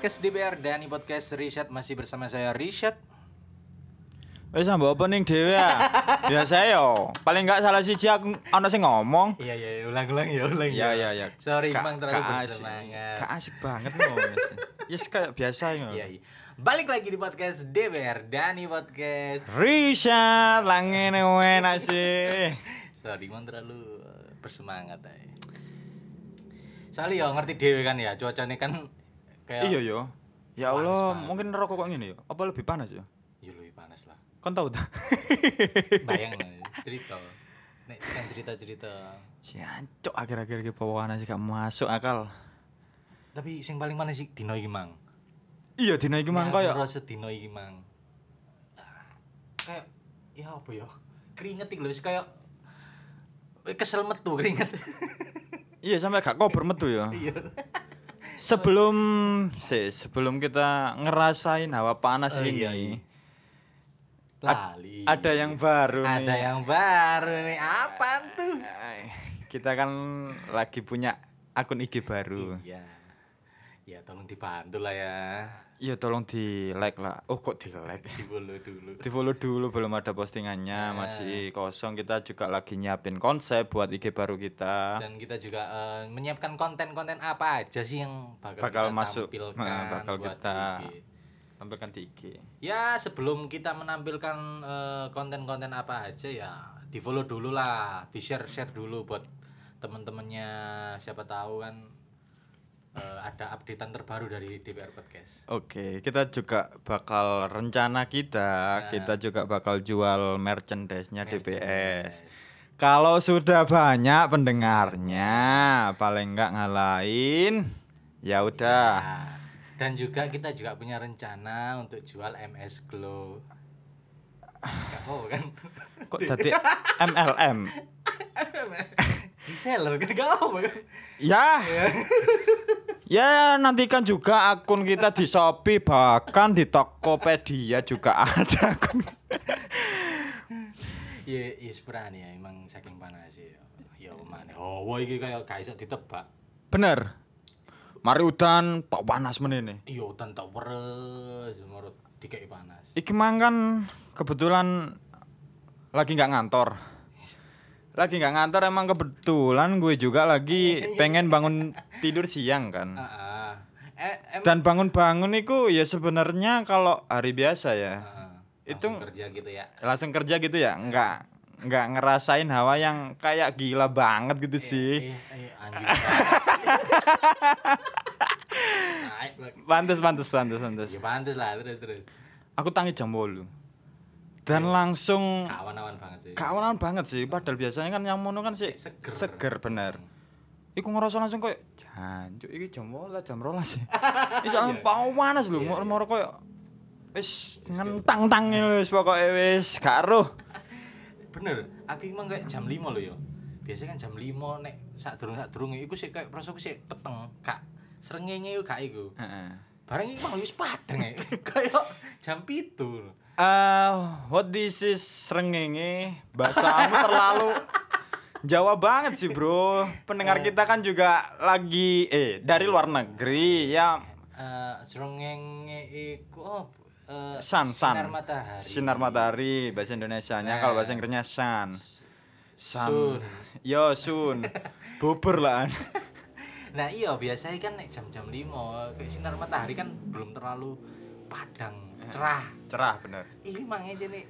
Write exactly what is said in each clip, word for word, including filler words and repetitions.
podcast D B R dan ini podcast Rishad, masih bersama saya Rishad. Wis mbok opening dhewe ya. Biasa yo. Paling enggak salah siji aku ana sing ngomong. Iya iya ulang-ulang ya, ulang ya. Iya iya iya. Sorry Ka- Bang terlalu ka- bersemangat. Gak asik banget loh. Yes kayak biasa yo. Iya iya. Balik lagi di podcast D B R dan ini podcast Rishad langene enak sih. Sorry Bang terlalu bersemangat aja. Soalnya yo ngerti dhewe kan ya, cuacane kan kayak Iya yo. Ya panas Allah, banget. mungkin rokok kok ngene yo. Apa lebih panas yo? ya lebih panas lah. Kon tahu ta? Bayang lah, cerita. Nek kan cerita-cerita. Jancuk akhir-akhir iki pawana sih gak masuk akal. Tapi sing paling panas sih dino iki Mang. Iya dina iki mang Nek koyo aku ngerasa dino iki Mang. Ah, Kayak ya apa ya? Keringet iki lho wis kayak kesel metu keringet. iya sampai gak kober metu yo. Iya. Sebelum sih, sebelum kita ngerasain hawa panas Oh, ini, iya, iya. Lali. ada yang baru nih. Ada yang baru nih. Apaan tuh? Ay, kita kan lagi punya akun I G baru. Iya. Ya tolong dibantu lah ya. Iya tolong di like lah. Oh kok di like? Di follow dulu. Di follow dulu, belum ada postingannya, masih kosong. Kita juga lagi nyiapin konsep buat I G baru kita. Dan kita juga eh, menyiapkan konten-konten apa aja sih yang bakal, Bakal kita masuk, tampilkan nah, bakal buat kita I G. tampilkan di I G. Ya sebelum kita menampilkan eh, konten-konten apa aja ya di follow dulu lah, di share share dulu buat teman-temannya, siapa tahu kan eh, ada updatean terbaru dari D B R Podcast. Oke, kita juga bakal rencana kita, kita juga bakal jual merchandise-nya D B S. Kalau sudah banyak pendengarnya, paling enggak ngalahin, ya udah. Nah, dan juga kita juga punya rencana untuk jual M S Glow. Gak mau kan? Kok tadi M L M? Reseller kan gak apa kan? Ya. Ya, nantikan juga akun kita di Shopee, bahkan di Tokopedia juga ada akun. Ya, ya sebenarnya ya, emang saking panas ya. Ya mana? Oh, wah iki kayak gak iso ditebak. Bener. Mari udan, pak panas menene. Iya, udan tak peres, marut dikei panas. Iki mang kan kebetulan lagi nggak ngantor. Lagi nggak ngantor emang kebetulan gue juga lagi pengen bangun tidur siang kan. Heeh. Eh, em Dan bangun-bangun itu ya sebenarnya kalau hari biasa ya. Heeh. itu Langsung kerja gitu ya. Langsung kerja gitu ya, nggak nggak ngerasain hawa yang kayak gila banget gitu sih. Eh, eh, anjing. Naik lagi. Pantes pantes pantes pantes. Ya pantes lah, terus terus. Aku tangi jam bolu. Dan langsung Kawan-kawan banget sih. kawanan banget sih, padahal biasanya kan yang mono kan sih Seger. seger bener. Iku ngerasa langsung koyo jancuk iki jam rolas jam rolas sih. Iki soalnya panas lho, moro-moro koyo wis ngentang-tang wis pokoke wis gak roh. Bener, aku emang kayak jam lima loh ya. Biasanya kan jam lima nek sak durung sak durung iku sik kayak prasaku sik peteng, gak srengenge yo gak iku. Heeh. Bareng iki malah wis padang ya. Kayak jam pitu. Uh, what this is srengenge, bahasamu terlalu Jawa banget sih bro. Pendengar kita kan juga lagi eh dari luar negeri ya. Eh srengenge iku oh, eh, Sun, sun. sinar matahari. Sinar matahari bahasa Indonesianya, kalau bahasa Inggrisnya sun. Sun. Yo sun. Bubur lah. Nah iya biasanya kan nek jam-jam lima kayak sinar matahari kan belum terlalu padang, cerah. Cerah bener. Ih mang aja nih.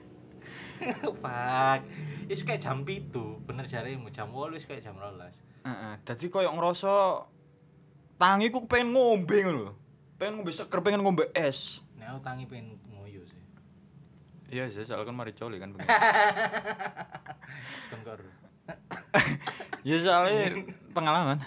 Fuck. Is kayak jam pitu, bener jaremu jam wolu wis kayak jam rolas. Heeh. Dadi koyo ngerasa tangiku pengen ngombe ngono lho. Pengen ngombe seger, pengen ngombe es. Nek aku tangi pengen ngoyo sih. Iya sih, soalnya kan mari coli kan begitu. Kan kor. Ya soalnya pengalaman.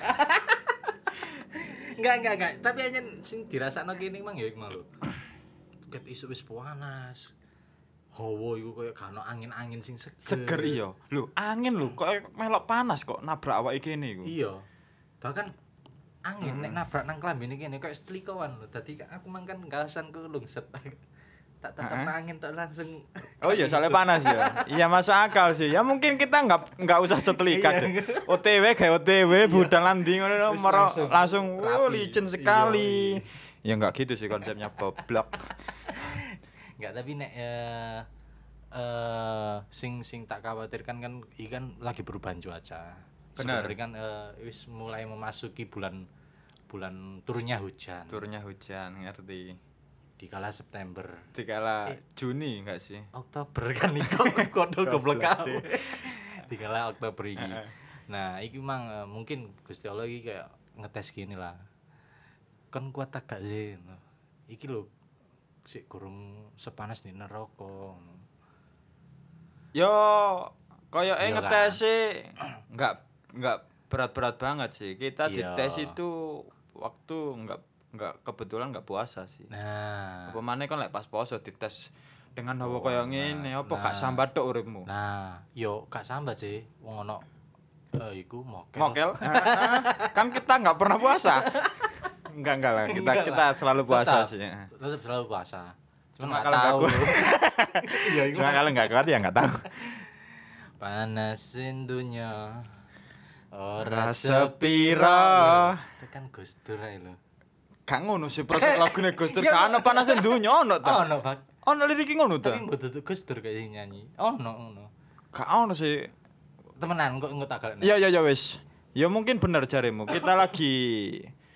Enggak enggak enggak, tapi hanya sing dirasakno kene mang ya iku mau lho. Ket isuk wis panas. Hawa iku koyo gak ono angin-angin sing seger. Seger iya. Lho, angin lho kok melok panas kok nabrak awake kene iku. Iya. Bahkan angin nek nabrak nang klambine kene koyo setlikowan lho. Dadi aku mang kan gasanku lungset. Tak tetep angin tak langsung. Oh iya, soalnya panas ya. Iya masuk akal sih. Ya mungkin kita nggak nggak usah setelika deh. O T W kayak O T W budal landi ngono moro langsung oh licin sekali. Ya enggak gitu sih konsepnya goblok. Enggak, tapi nek eh eh sing sing tak khawatirkan kan iki kan lagi perubahan cuaca. Benar. Sebenarnya kan eh, wis mulai memasuki bulan bulan turunnya hujan. Turunnya hujan, ngerti. Dikala September, Dikala Juni enggak sih? Oktober kan iku kodo goblok kabeh. Dikala Oktober iki. Nah, iki mang eh, mungkin Gusti Allah iki kayak ngetes gini lah. Kon kuat tak gak sih? Iki lho sik gurung sepanas di neraka. Yo koyoke Iyalah. ngetesi enggak enggak berat-berat banget sih. Kita Iya. dites itu waktu enggak enggak kebetulan enggak puasa sih. Nah, Apa maneh kon lek pas poso dites dengan hawa koyo ngene apa gak Nah. sambat tok uripmu. nah, yo gak sambat sih. Wong ono eh iku mokel. Mokel. Kan kita enggak pernah puasa. Enggak enggak lah, kita Enggak kita lah. selalu puasa Tetap. sih. Tetap selalu puasa. Cuma Cuma kalau nggak kalau tahu. kuat. Iya, iku. Cuma kalau enggak kuat ya enggak tahu. Panasin dunya. Ora Ora sepira. Itu kan Gus Dur ae lho. Gak ngono sih proses lagune Gus Dur kan ono panasin dunya ono ta. Ono, Pak. Ono lirik ngono ta. Tapi mbok tutuk Gus Dur kayak sing nyanyi. Ono ngono. Gak ono sih. Temenan kok engko tak galekno. Iya iya ya wis. Ya mungkin bener jarimu. Kita lagi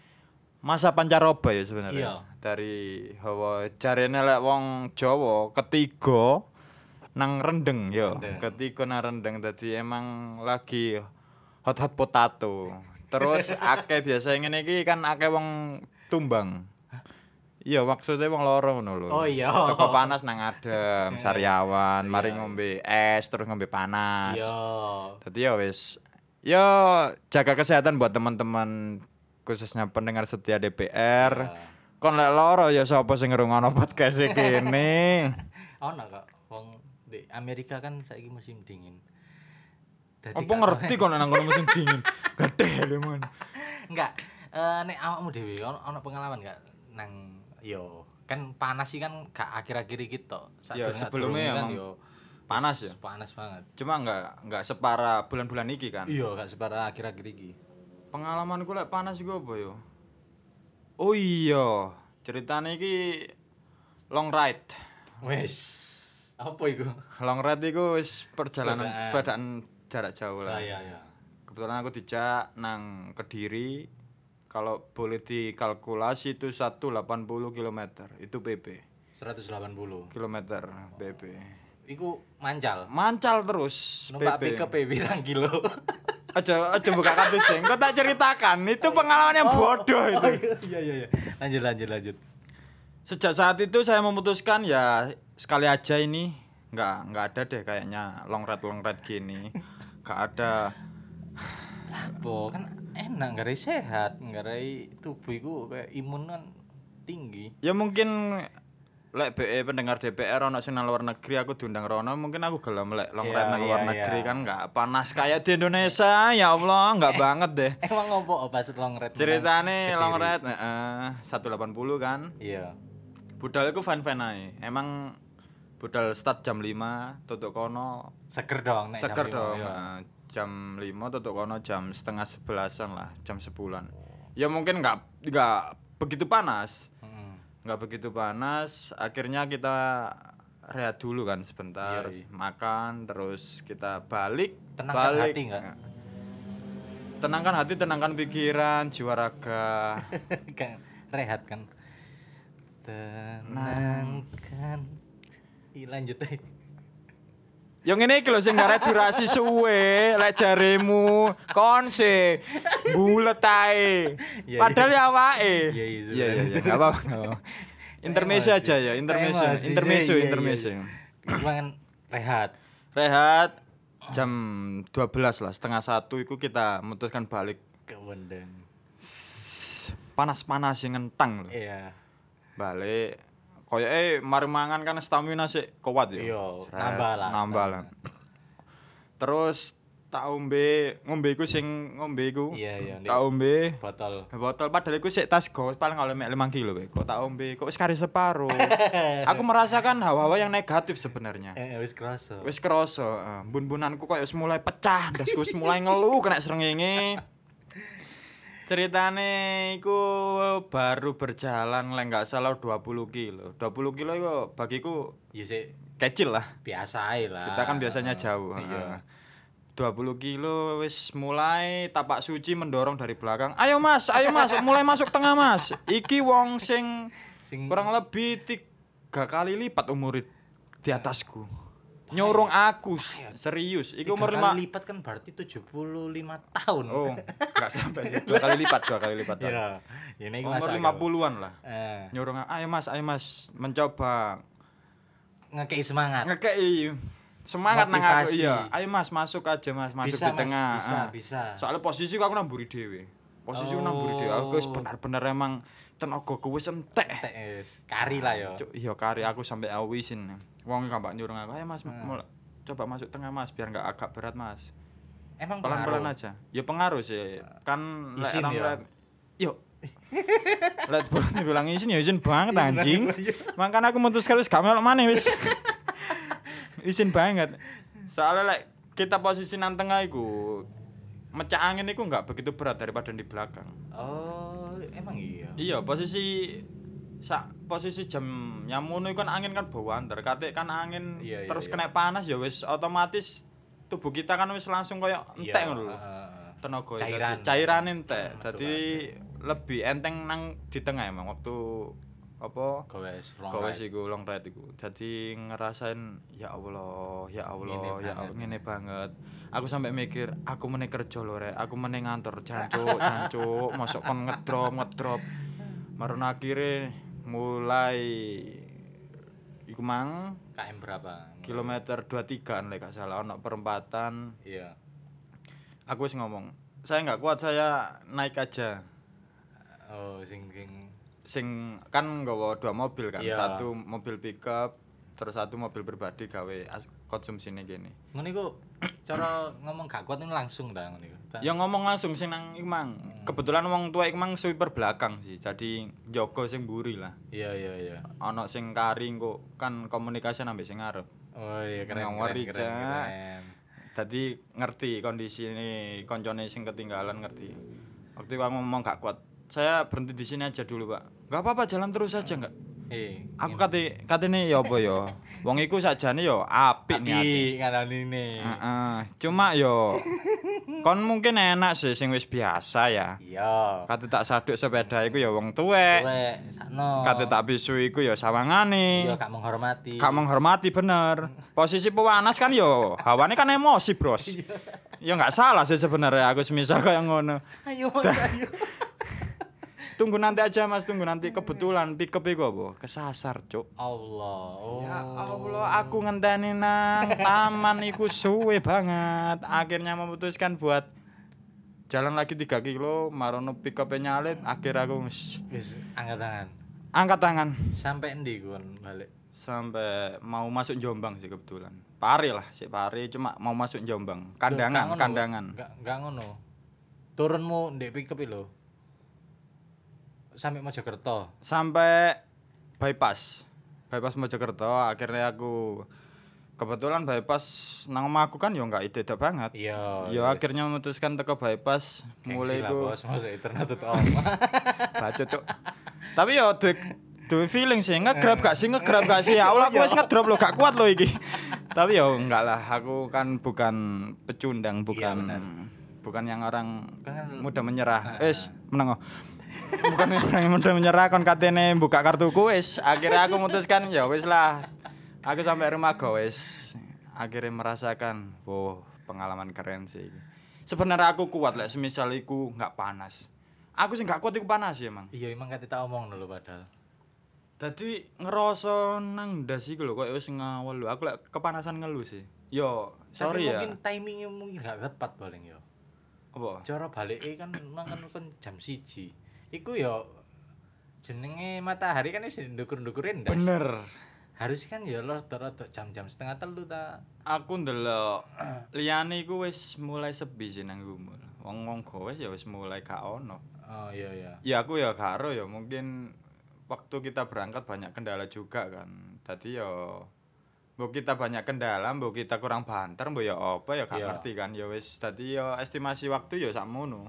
masa pancaroba ya sebenarnya. Iya. Dari hawa jarene lek wong Jawa ketiga nang rendeng ya. Rendeng. Ketiga nang rendeng dadi emang lagi hot hot potato. Terus akeh biasa ngene iki kan akeh wong tumbang. Iya maksudnya wong loro ngono lho. Oh iya. Teko panas nang adem, Sariawan, mari ngombe es terus ngombe panas. Iya. Jadi ya wis ya jaga kesehatan buat teman-teman khususnya pendengar setia D P R. Ya. Kon lek loro ya sapa sing ngrungokno podcast iki kene. Ono kok wong di Amerika kan saiki musim dingin. Dadi Apa gak ngerti kon nang kono musim dingin. Gede lho mon. Enggak, eh nek awakmu dhewe ono ono pengalaman enggak nang yo kan panas sih kan gak akhir-akhir iki tok. Ya, Sadurunge- sebelumnya sadurunge kan emang yo panas wis ya? Panas banget. Cuma enggak enggak separah bulan-bulan iki kan. Iya, gak separah akhir-akhir iki. Pengalamanku lek panas iku apa yo? Oh iya, ceritane iki long ride. Wes. Apa iku? Long ride iku wis perjalanan Sepedaan. sepedaan jarak jauh lah. Ah iya iya. Kebetulan aku dijak nang Kediri. Kalau boleh dikalkulasi itu seratus delapan puluh kilometer. Itu P P. seratus delapan puluh. Kilometer P P. Iku mancal. Mancal terus Numpak P P. pickup pirang kilo. Aja aja buka kartu sing. Kok tak ceritakan, itu pengalaman yang bodoh itu. Iya iya iya. Lanjut lanjut lanjut. Sejak saat itu saya memutuskan ya sekali aja ini nggak nggak ada deh kayaknya long ride long ride gini. Nggak ada. Lapo kan enak garai sehat, garai tubuh iku kayak imun kan tinggi. Ya mungkin lek B E pendengar D P R ono sing nang luar negeri aku diundang rono mungkin aku gelem lek long Iya, ride nang luar iya, negeri iya. kan nggak panas kayak di Indonesia ya Allah nggak banget deh. Emang ngopo pas long ride? Ceritane menang long Kediri? ride heeh seratus delapan puluh kan. Iya. Budal iku fan-fan ae. Emang budal start jam lima tutuk kono Seger dong nek jam seger lima, dong. iya. Nah, jam lima tutuk kono jam setengah sebelasan lah, jam sebulan. Ya mungkin nggak nggak begitu panas. Heeh. Nggak begitu panas, akhirnya kita rehat dulu kan sebentar, Iya, iya. makan, terus kita balik, Tenangkan balik. hati nggak? Tenangkan hati, tenangkan pikiran, jiwa raga. Kan rehat kan. Tenangkan. Ih lanjut ae. Yang ini iki lho sing garek durasi suwe, lek jaremu konse bulet ae. Iya, Padahal ya awake. Iya, iya, Iya iya iya, enggak apa-apa. nggak apa-apa. Intermezzo Emosi. aja ya, intermezzo, Emosi sih, intermezzo, iya, iya, intermezzo. iya. Cuma kan rehat. Rehat jam dua belas lah, setengah satu itu kita memutuskan balik. Kewendeng. Panas-panas sing ngentang lho. Iya. Balik koyo eh mari mangan kan stamina sik kuat ya. Iya, Sret, nambah lah, Nambah lah. Terus tak ombe, ngombe iku sing ngombe iku. Iya, iya, Tak ombe Botol. botol padahal iku sik tas go paling oleh mek lima kilo we. Kok tak ombe kok wis kari separo. Aku merasakan hawa-hawa yang negatif sebenarnya. Eh wis kerasa. Wis kerasa, heeh. Bun-bunanku koyo wis mulai pecah, ndasku wis mulai ngeluh kena srengenge. Ceritane iku baru berjalan lek enggak salah dua puluh kilo. dua puluh kilo iku bagiku Ya sik kecil lah. biasa ae lah. Kita kan biasanya jauh. Iya. dua puluh kilo wis mulai tapak suci mendorong dari belakang. Ayo Mas, ayo Mas, mulai masuk tengah Mas. Iki wong sing Sing kurang lebih tiga kali lipat umur di atasku. Nyorong aku serius. Iku umur tiga lima. kali lipat kan berarti tujuh puluh lima tahun. Oh, enggak sampai sih. Dua kali lipat, dua kali lipat. Iya. Ya nek Umur lima puluhan lah. Eh, Nyorong, ayo Mas, ayo Mas, mencoba ngekei semangat. ngekei semangat nang aku. Motivasi. Iya, ayo Mas, masuk aja Mas, masuk Bisa, di Mas, tengah. bisa, Ah. bisa. Soalnya posisi aku nang mburi dhewe. Posisi aku nang mburi dhewe. Aku wis bener-bener emang tenagaku wis entek. Tek wis. Kari lah yo. Cuk, iya kari aku sampai aku isin. Wong gampang nyuruh aku, ayo Mas, mulai coba masuk tengah Mas, biar enggak agak berat Mas. Emang Pelan-pelan pengaruh? aja. Ya pengaruh sih. Kan lek Isin orang ya? liat yo. Lihat burungnya bilang izin ya izin banget anjing. Makanya aku memutuskan wis gak melok maneh wis. Izin banget. Soalnya lek kita posisi nang tengah iku mecah angin iku enggak begitu berat daripada di belakang. Oh, emang iya. Iya, posisi sak posisi jam nyamono iku kan angin kan bawa antar. Kate kan angin Iya, iya, terus iya. kena panas ya wis otomatis tubuh kita kan wis langsung koyo entek ngono lho. heeh. Tenaga Cairan. dadi cairan entek. Metu Dadi lebih enteng nang di tengah emang waktu apa Gowes, gowes iku long ride iku. Dadi ngerasain ya Allah, ya Allah, Ngene ya banget. Allah ngene banget. Aku sampai mikir, aku meneh kerja lho rek, aku meneh ngantor jancuk, jancuk, mosok kon ngedrop, ngedrop. Maron akhire mulai iku mang K M berapa? kilometer dua puluh tiga lek gak salah ono perempatan. Iya. Aku wis ngomong, saya nggak kuat, saya naik aja. Oh, sing sing Sing kan nggawa dua mobil kan, Iya. satu mobil pickup, terus satu mobil pribadi gawe as- konsumsine kene. ngono iku cara ngomong gak kuat itu langsung ta ngono iku. Ta- Ya ngomong langsung sing nang iku mang. Kebetulan wong tua iku mang sweeper belakang sih, jadi njogo sing mburi lah. Iya, iya, iya. Ana sing kari kok kan komunikasi ambek sing ngarep. Oh iya keren keren Ngawari, keren. Cak. keren. Dadi ngerti kondisi ini koncone sing ketinggalan ngerti. Waktu itu aku ngomong gak kuat. Saya berhenti di sini aja dulu, Pak. Gak apa-apa, jalan terus aja enggak. Eh, Aku kate katene ya apa ya. Wong iku sakjane ya apik niate. tapi ngaran ini. Heeh. Cuma yo kon mungkin enak sih sing wis biasa ya. Iya. Kate tak saduk sepeda iku ya wong tuwek. Kowe sakno. Kate tak bisu iku ya sawangane. Iya gak menghormati. Gak menghormati bener. Posisi pewanas kan yo hawane kan emosi, Bros. Ya enggak salah sih sebenarnya aku semisal kayak ngono. Ayo, Mas, ayo. Tunggu nanti aja Mas, tunggu nanti kebetulan pick up iku apa? Kesasar, Cuk. Allah. Oh. Ya Allah, aku ngenteni nang taman iku suwe banget. Akhirnya memutuskan buat jalan lagi tiga kilo, marono pick up nyalip, akhir aku wis Wis angkat tangan. angkat tangan Sampai endi kon balik? sampai mau masuk Jombang sih kebetulan. Pari lah, sik pari cuma mau masuk Jombang. Loh, Kandangan, gak ngono, kandangan. Gak gak ngono. Turunmu ndek pick up lho. Sampai Mojokerto. Sampai bypass. Bypass Mojokerto, akhirnya aku kebetulan bypass nang omahku kan yo enggak ide banget. Iya. Yo wis. akhirnya memutuskan teko bypass mulai Gengsi lah, ku bos, masa internet tuh omah. baca cuk. Tapi yo duwe duwe feeling sih nge-grab gak sih nge-grab gak sih. Ya Allah aku wis ngedrop lo gak kuat lo iki. Tapi yo enggak lah, aku kan bukan pecundang, bukan benar. bukan yang orang Kan kan- mudah menyerah. Wis meneng. Bukan orang yang mudah menyerah kon katene buka kartuku wis. Akhirnya aku memutuskan ya wis lah. Aku sampai rumah go wis. Akhirnya merasakan, wow, pengalaman keren sih. Sebenarnya aku kuat lah, semisal iku nggak panas. Aku sih nggak kuat iku panas ya emang. Iya emang kate tak omong dulu padahal. Dadi ngerasa nang ndas iku lho koyo wis ngawel lho. Aku lek kepanasan ngeluh sih. Yo, sorry Tapi ya. mungkin timingnya mungkin gak tepat paling yo. Apa? Cara balik kan nang kan kan jam siji. Iku yo jenenge matahari kan wis ndukur-ndukurin ndas. Bener. Harus kan ya rada-rada jam-jam setengah telu ta. Aku ndelok liyane iku wis mulai sepi sih nang gumul. Wong-wong gowes ya wis mulai gak ono. Oh iya iya. Ya aku ya karo ya mungkin waktu kita berangkat banyak kendala juga kan. Tadi ya mbok kita banyak kendala, mbok kita kurang banter, mbok ya apa ya gak Iya. ngerti kan. Ya wis dadi ya estimasi waktu ya sakmono.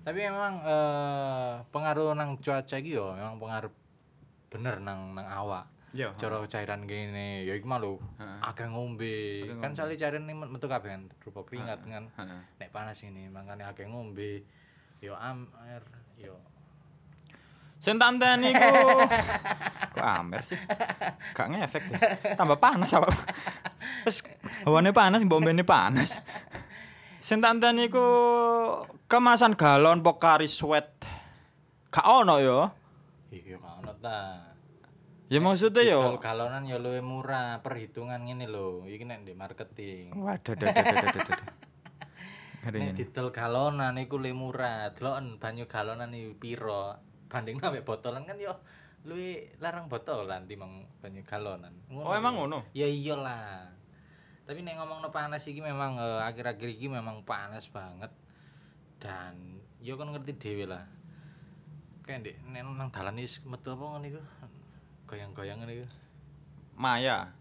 Tapi memang eh, pengaruh nang cuaca iki yo memang pengaruh bener nang nang awak. Iya. Cara cairan gini ya iku mah lho akeh ngombe. Kan soalnya cairan ini metu kabeh kan berupa keringat kan. Nek panas ini makanya akeh ngombe. Yo amer yo Sing tak enteni iku kok amer sih? Gak ngefek deh. Tambah panas apa? Terus hawane panas, mbok mbene panas. Sing tak enteni iku kemasan galon Pocari Sweat. Gak ono yo. iya kan ta. Ya maksudnya yo. Kalau galonan ya luwih murah, perhitungan ngene lho. Iki nek di marketing. Waduh, dadah dadah dadah. Nek didol galonan iku luwih murah. Deloken banyu galonan iki piro? Banding ambek botolan kan yo luwih larang botolan timbang banyu galonan. Oh, emang ngono? Ya iyalah. Tapi nek ngomongno panas iki memang eh, akhir-akhir iki memang panas banget. Dan yo kan ngerti dhewe lah. Kayak ndek nek nang dalan wis metu apa ngono iku? Goyang-goyang ngene iku. Maya.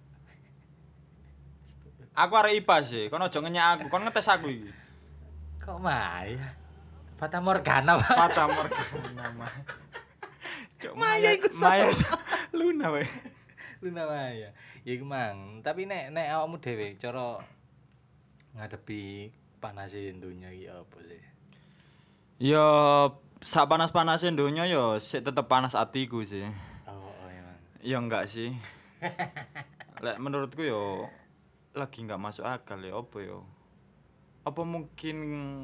Aku arek I P A sih, kon aja ngenyek aku, kon ngetes aku iki. Kok Maya? Fata Morgana, Pak. Fata Morgana mah. Cuk, Maya iku Maya Luna wae. Luna Maya. Ya iku mang, tapi nek nek awakmu dhewe cara ngadepi panase donya iki apa sih? Ya sak panas-panase donya ya sik tetep panas atiku sih. Oh, oh emang. Ya enggak sih. Lek menurutku yo lagi enggak masuk akal ya apa yo. Apa mungkin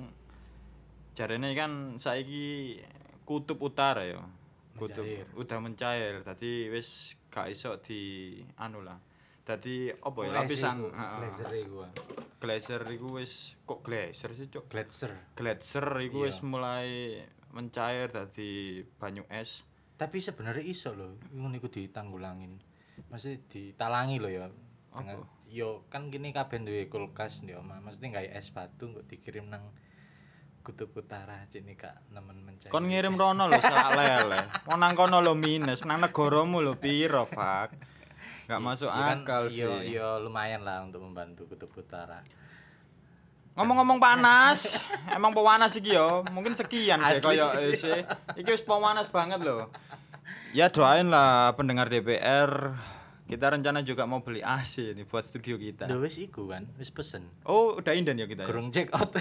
jarene kan saiki kutub utara ya. Kutub Mencair. udah mencair. Dadi wis gak iso di anu lah. Dadi apa ya Glacier lapisan iku, heeh. glacier iku. ah. Glacier iku wis kok glacier sih, Cuk. Glacier. Glacier iku Iya. wis mulai mencair dadi banyu es. Tapi sebenarnya iso lho, ngono iku ditanggulangin. Mesti ditalangi lho ya. Dengan yo kan gini kabeh duwe kulkas yo, mesti gawe es batu kok dikirim nang kutub utara cini kak nemen mencair. Kon ngirim rono lho sak lele. Wong nang kono lho minus, nang negaramu lho piro, Fak. Gak masuk Ya kan, akal sih. yo yo lumayan lah untuk membantu kutub utara. Ngomong-ngomong panas, emang pewanas iki yo. Mungkin sekian deh Asli. kaya isi. Iki wis pewanas banget loh. Ya doain lah pendengar D P R. Kita rencana juga mau beli A C nih buat studio kita. Lho wis iku kan, wis pesen. Oh, udah inden ya kita. Ya? Gurung check out.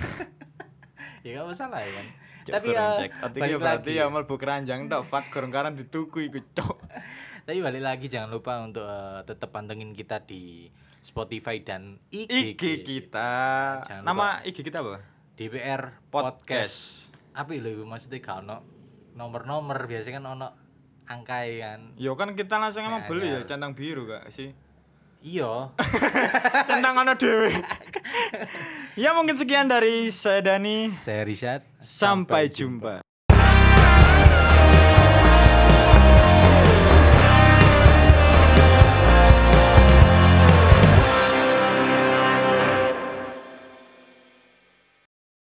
Ya gak masalah ya kan. Cuk, Tapi gurung ya cek. Artinya balik berarti lagi. ya mlebu keranjang tok fak gurung karan dituku iku cok. Tapi balik lagi jangan lupa untuk eh, tetap pantengin kita di Spotify dan I G, I G kita. Jangan Nama I G kita apa? D P R Podcast. Apa lho iku maksudnya gak ono nomor-nomor biasanya kan ono angkai kan. Yo kan kita langsung emang Nah, beli ya ya. centang biru gak sih? Iya. Centang ono dhewe. Ya mungkin sekian dari saya Dani. Saya Rishad. Sampai jumpa.